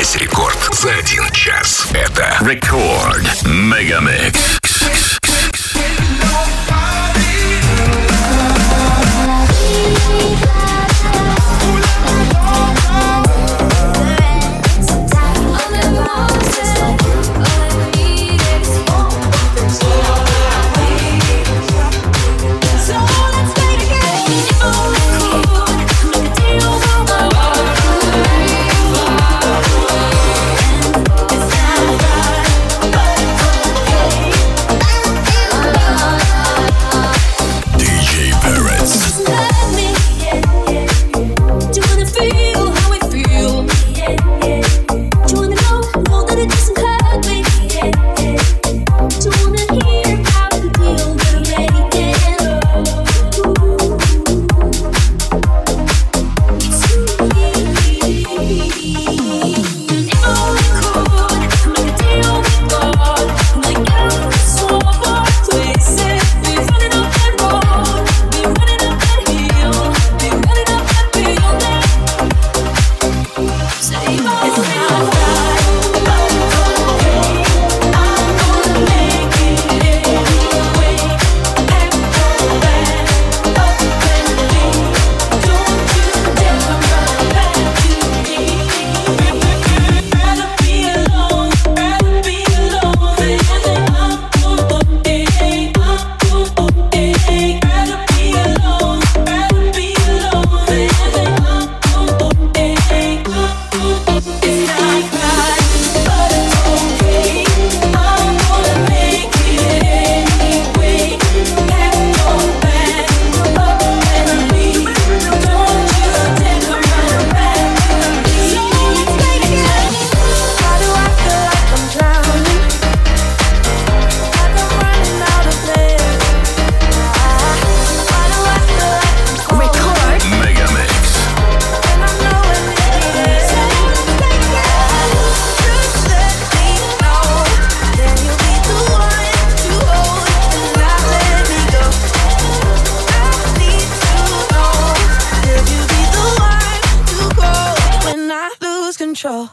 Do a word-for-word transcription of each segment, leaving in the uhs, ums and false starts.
Весь рекорд за один час. Это Рекорд Мегамикс. Control.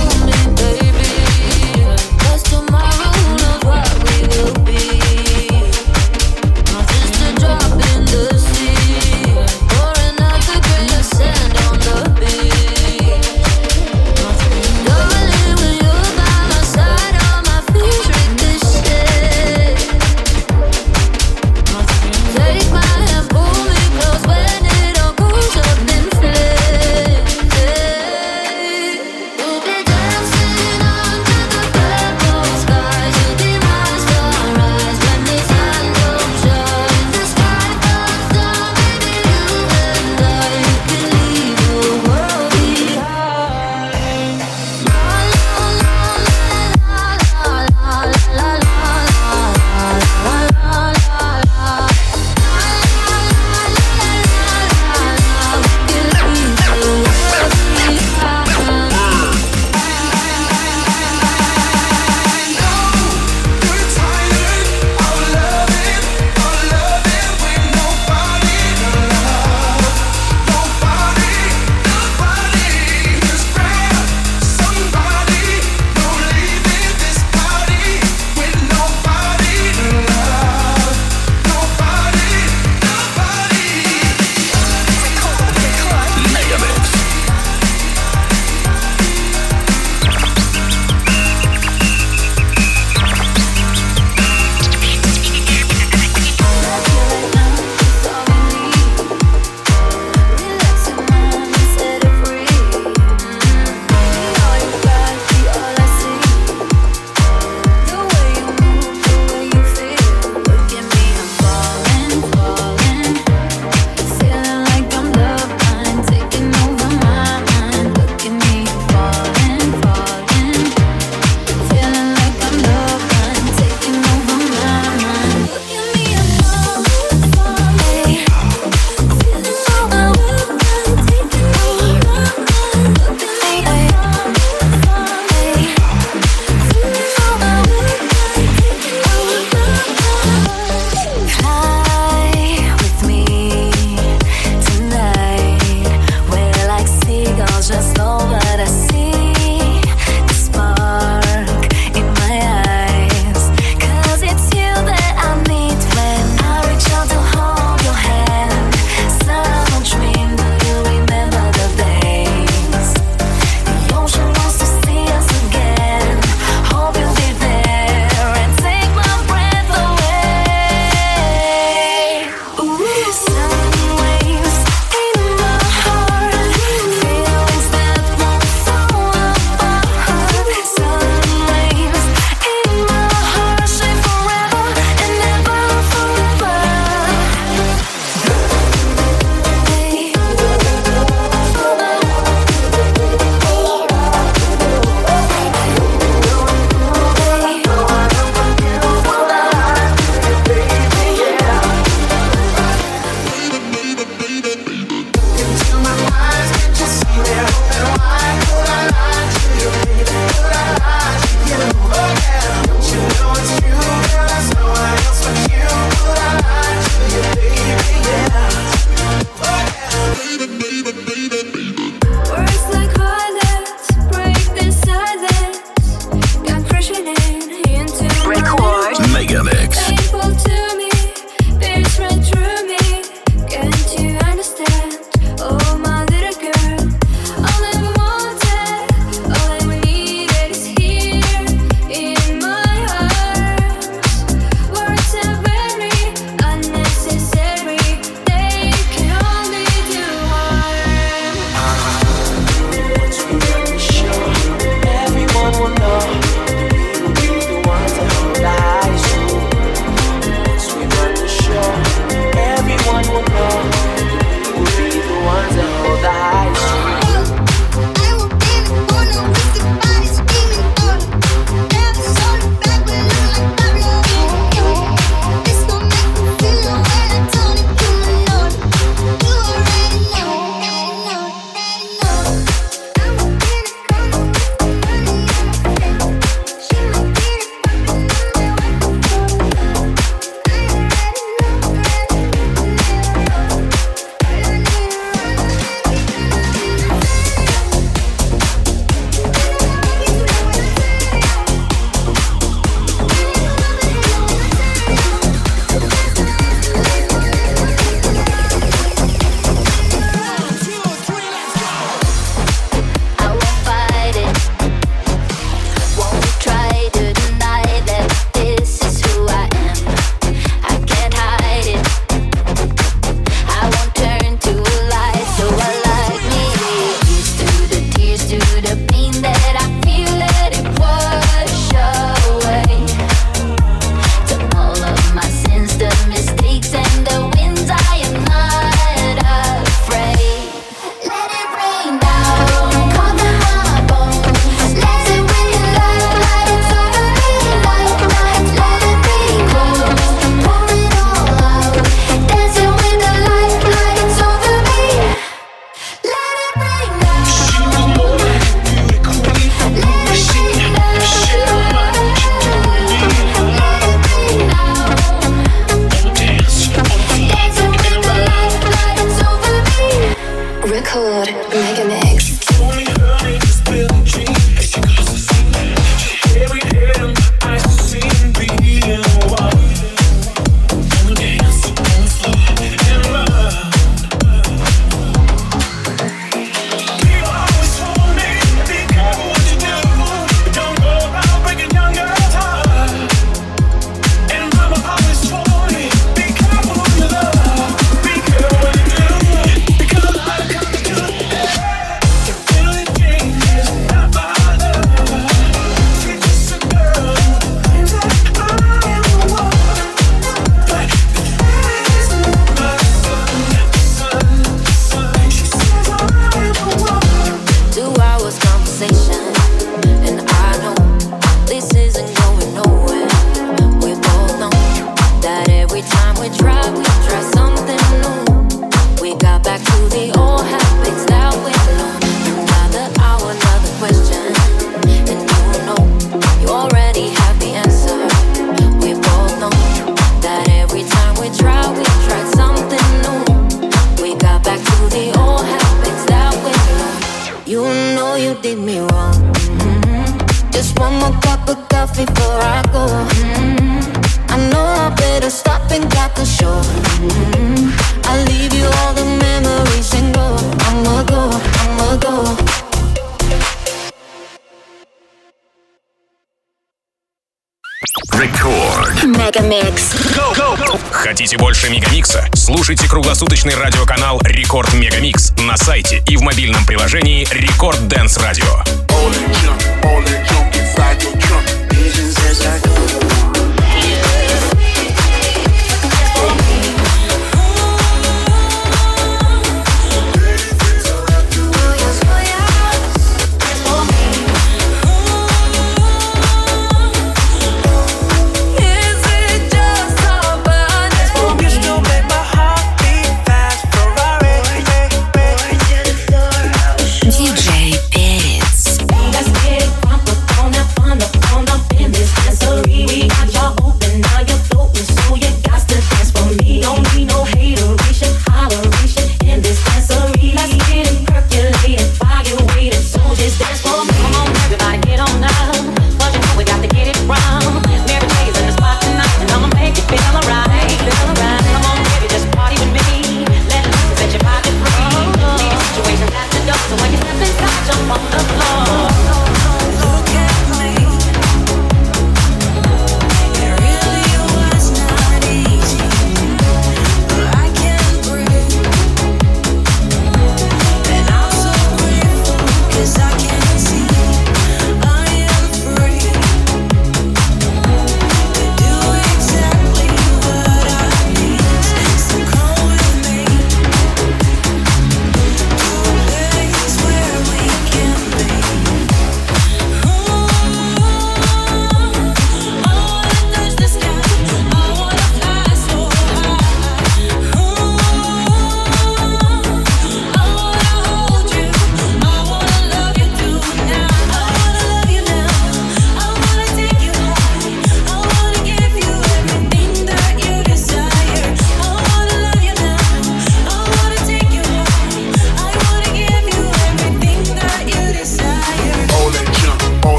We'll be dancing one more cup of coffee before I go. Mm-hmm. I know I better stop and got the show. Mm-hmm. I'll leave you all the memories and go. I'ma go, I'ma go. Record. Мегамикс. Go, go, go. Хотите больше Мегамикса? Слушайте круглосуточный радиоканал Рекорд Мегамикс на сайте и в мобильном приложении Рекорд Dance Radio. диджей Перец.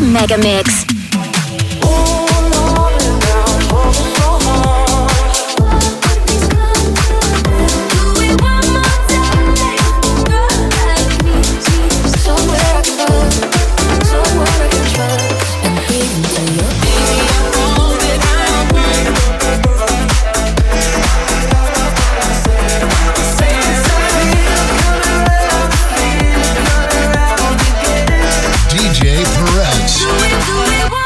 Megamix. D J Perez. Do it, do it.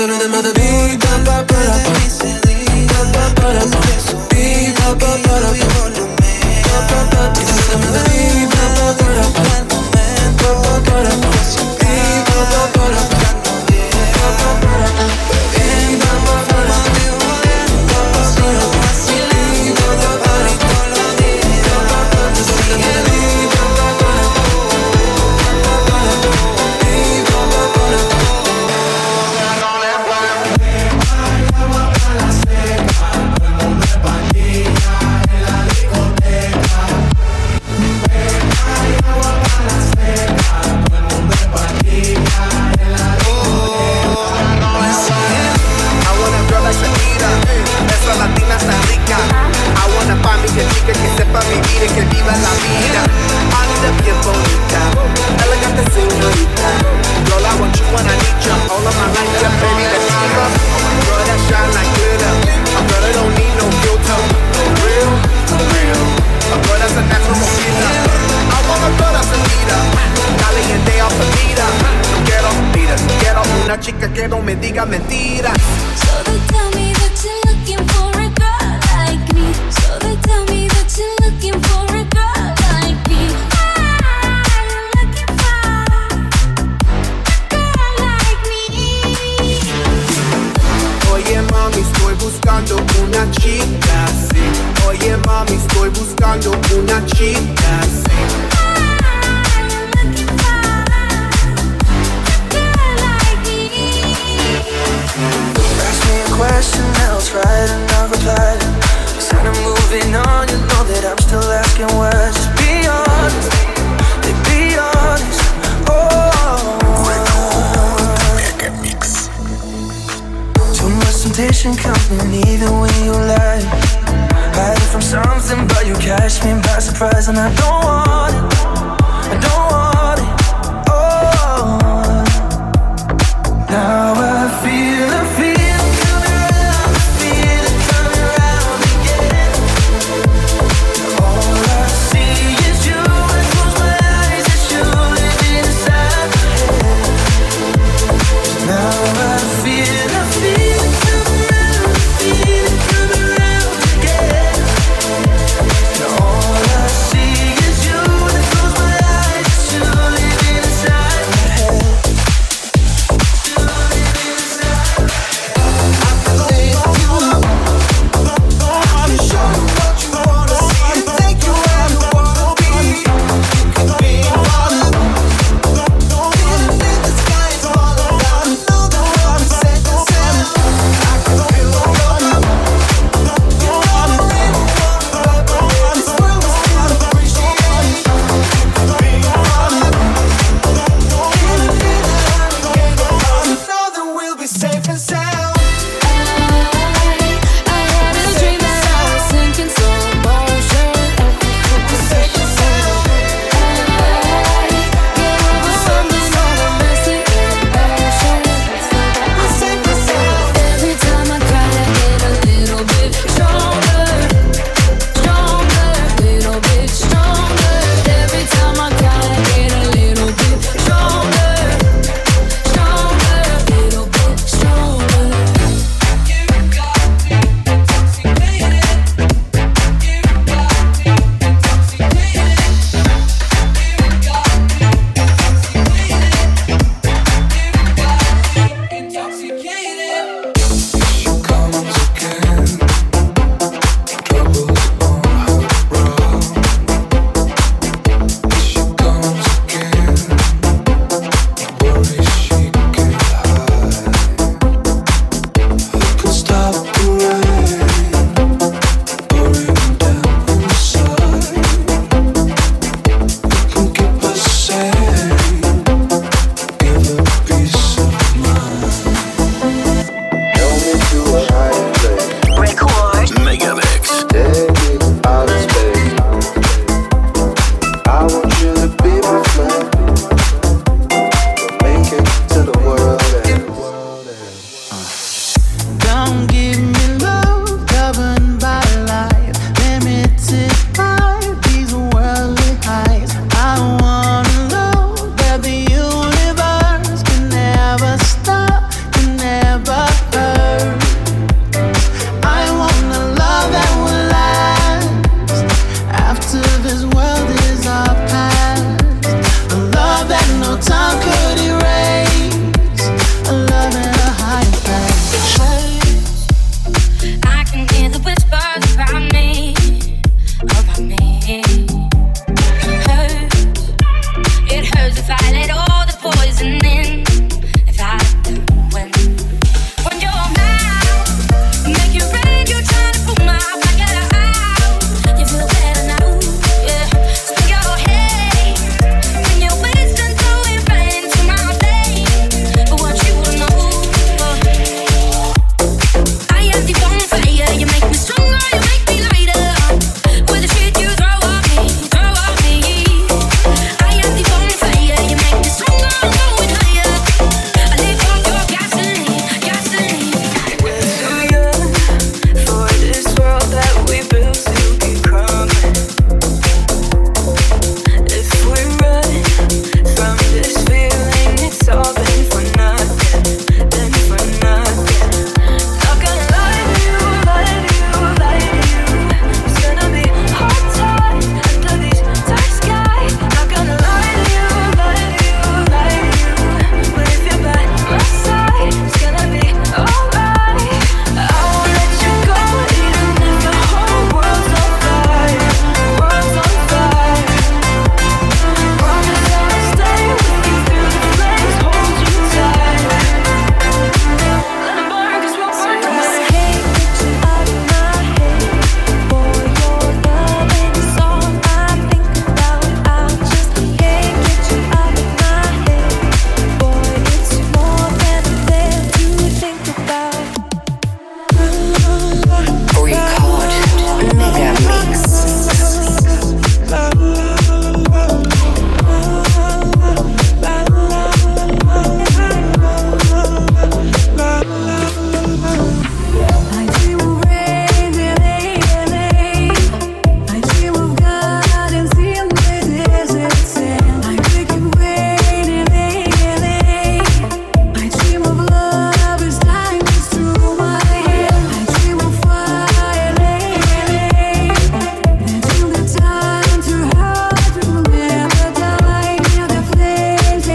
Dentro de más de mí, pa pa para pa, pa pa para pa, mi pa pa para pa, pa pa pa. Dentro de más de mí, pa pa para pa, pa pa para pa, mi pa pa para pa, pa pa para pa, mi pa pa para pa, pa pa para pa, mi pa pa para pa, pa pa para pa. Dentro de más de mí, pa pa para pa, pa pa para pa, mi pa pa para pa. Latina está rica. I wanna find me a chica que sepa vivir y que viva la vida. Anda bien bonita, elegante señorita. Girl, I want you when I need you. All of my life, yeah, baby, let's keep up. Girl, that shine like glitter. A girl that don't need no filter. For real, for real. A girl that's a natural moquita. I want a girl that's a leader. Caliente off the meter. No quiero, mira, no quiero una chica que no me diga mentiras. So they tell me that you're looking for a girl like me. So they tell me that you're looking for a girl like me. I'm looking for a girl like me. Oye mami, estoy buscando una chica, sí. Oye mami, estoy buscando una chica, sí. Question, I'll try to not reply. Instead of moving on, you know that I'm still asking why. Just be honest, they be honest. Oh, Mega Mix. too much temptation coming either way you lie. Hiding from something, but you catch me by surprise, and I don't want it. I don't want it. Oh, now I feel, I feel. All I see is you, and I close my eyes, it's you. no time could erase a love in a higher place. I can hear the whispers around me, around me. Hurts. It hurts if I let all the poison in. If I when when your mouth make you rain, you try to pull my fire out. You feel better now, yeah. Spin your head when you're wasting, throwing rain to my veins. But what you don't know, I am the bonfire. You make me stronger, you make me lighter. With the shit you throw at me, throw at me. I am the bonfire. You make me stronger, I'm going higher. I live on your gasoline, gasoline. We're too young for this world that we built to keep crumbling. If we run from this feeling, it's all been for nothing, been for nothing. Not gonna lie to you, lie to you, lie to you. It's gonna be hard times under these dark skies. Not gonna lie to you, lie to you, lie to you. But if you're by my side, it's gonna be alright. I won't let you go even if the whole world's on fire, world's on fire. Promise I'll stay with you through the flames, hold you tight. Let 'em burn 'cause we're one Can't night. get you out of my head. Boy, your loving is all I think about. I just can't get you out of my head. Boy, it's more than there to think about. Record Mega Mix. I dream of rain in L A. I dream of gardens in the desert sand. I wake and wait in L A. I dream of lovers diamonds through my hair. I dream of fire, until the time to hurt will never die. Near the flames,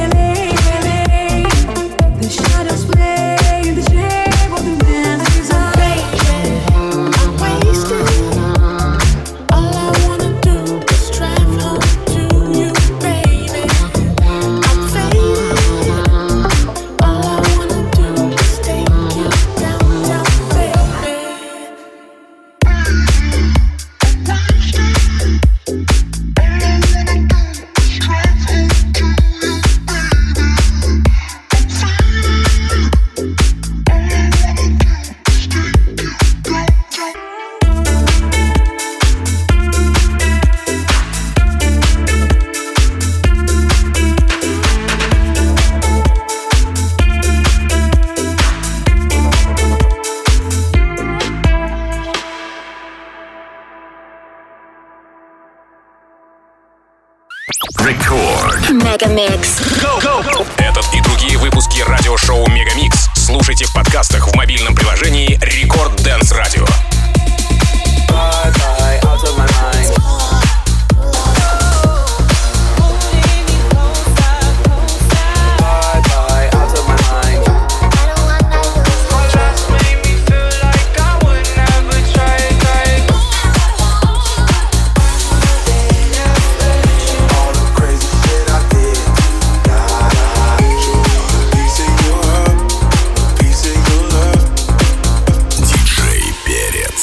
the shadows play in the shape of the man's desire. I'm wasted. All I wanna do is drive home to you, baby. I'm faded. All I wanna do is take you downtown, baby. Record. Megamix. Этот и другие выпуски радиошоу Мегамикс слушайте в подкастах в мобильном приложении Рекорд Dance Radio. Bye bye, out of my mind. Bye bye, out of my mind. Just made me feel like I would never try again. All the crazy shit I did. Piece of your love, piece of your love. Диджей Перец.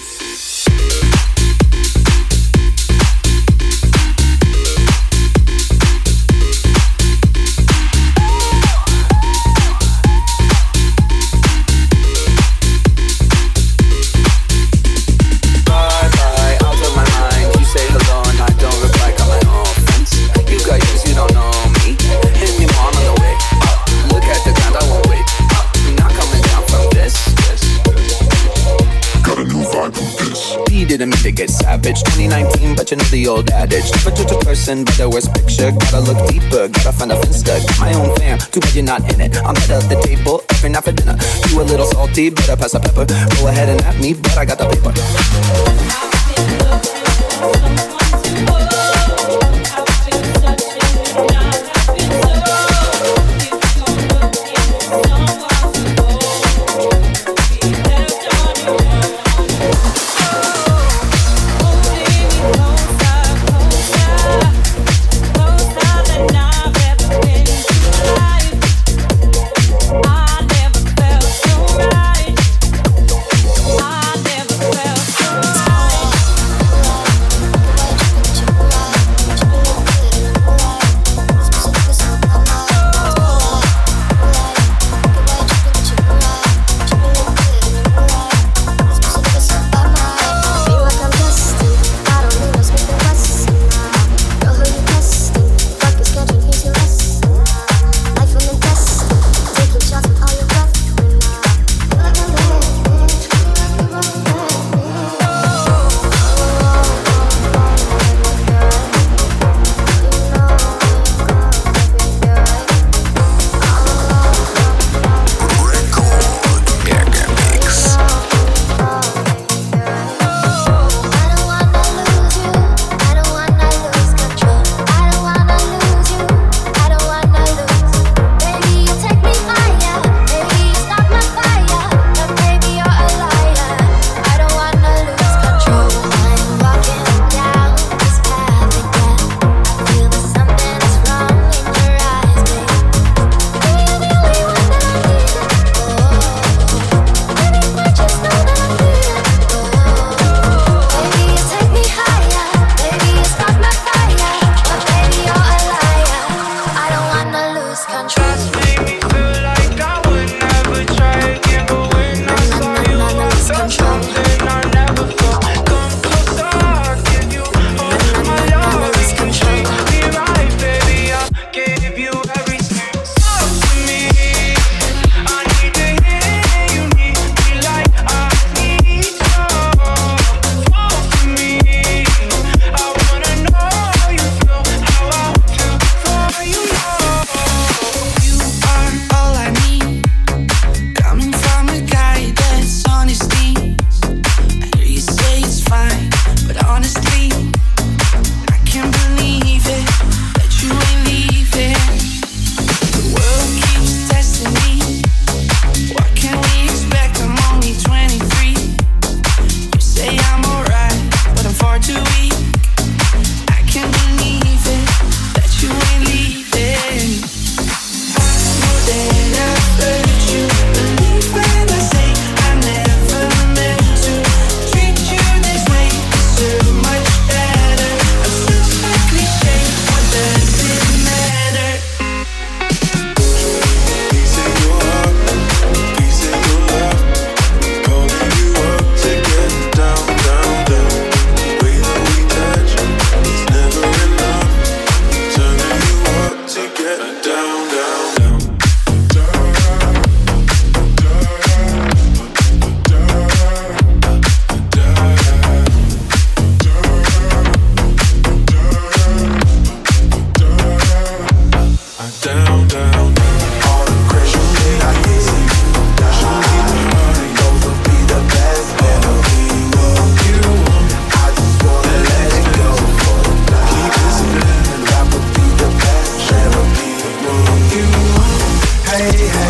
Bye bye, out of my mind. You say hello and I don't reply, got my own friends. You got yours, you don't know me. Hit me more on the way. Look at the ground, I won't wait. Not coming down from this. Got a new vibe from this. He didn't mean to get savage. twenty nineteen, but you know the old adage. Never judge a person by the worst picture. Gotta look deeper, gotta find a finster. Got my own fam, too bad you're not in it. I'm head of the table, every night for dinner. You a little salty, better pass the pepper. Go ahead and at me, but I got the paper. Someone to hold, I've been searching, I've been down, down. All the crazy shit I get, those will be the best memory of you. I just wanna let it go for the night. Keep listening, that would be the best memory of you. Hey, hey.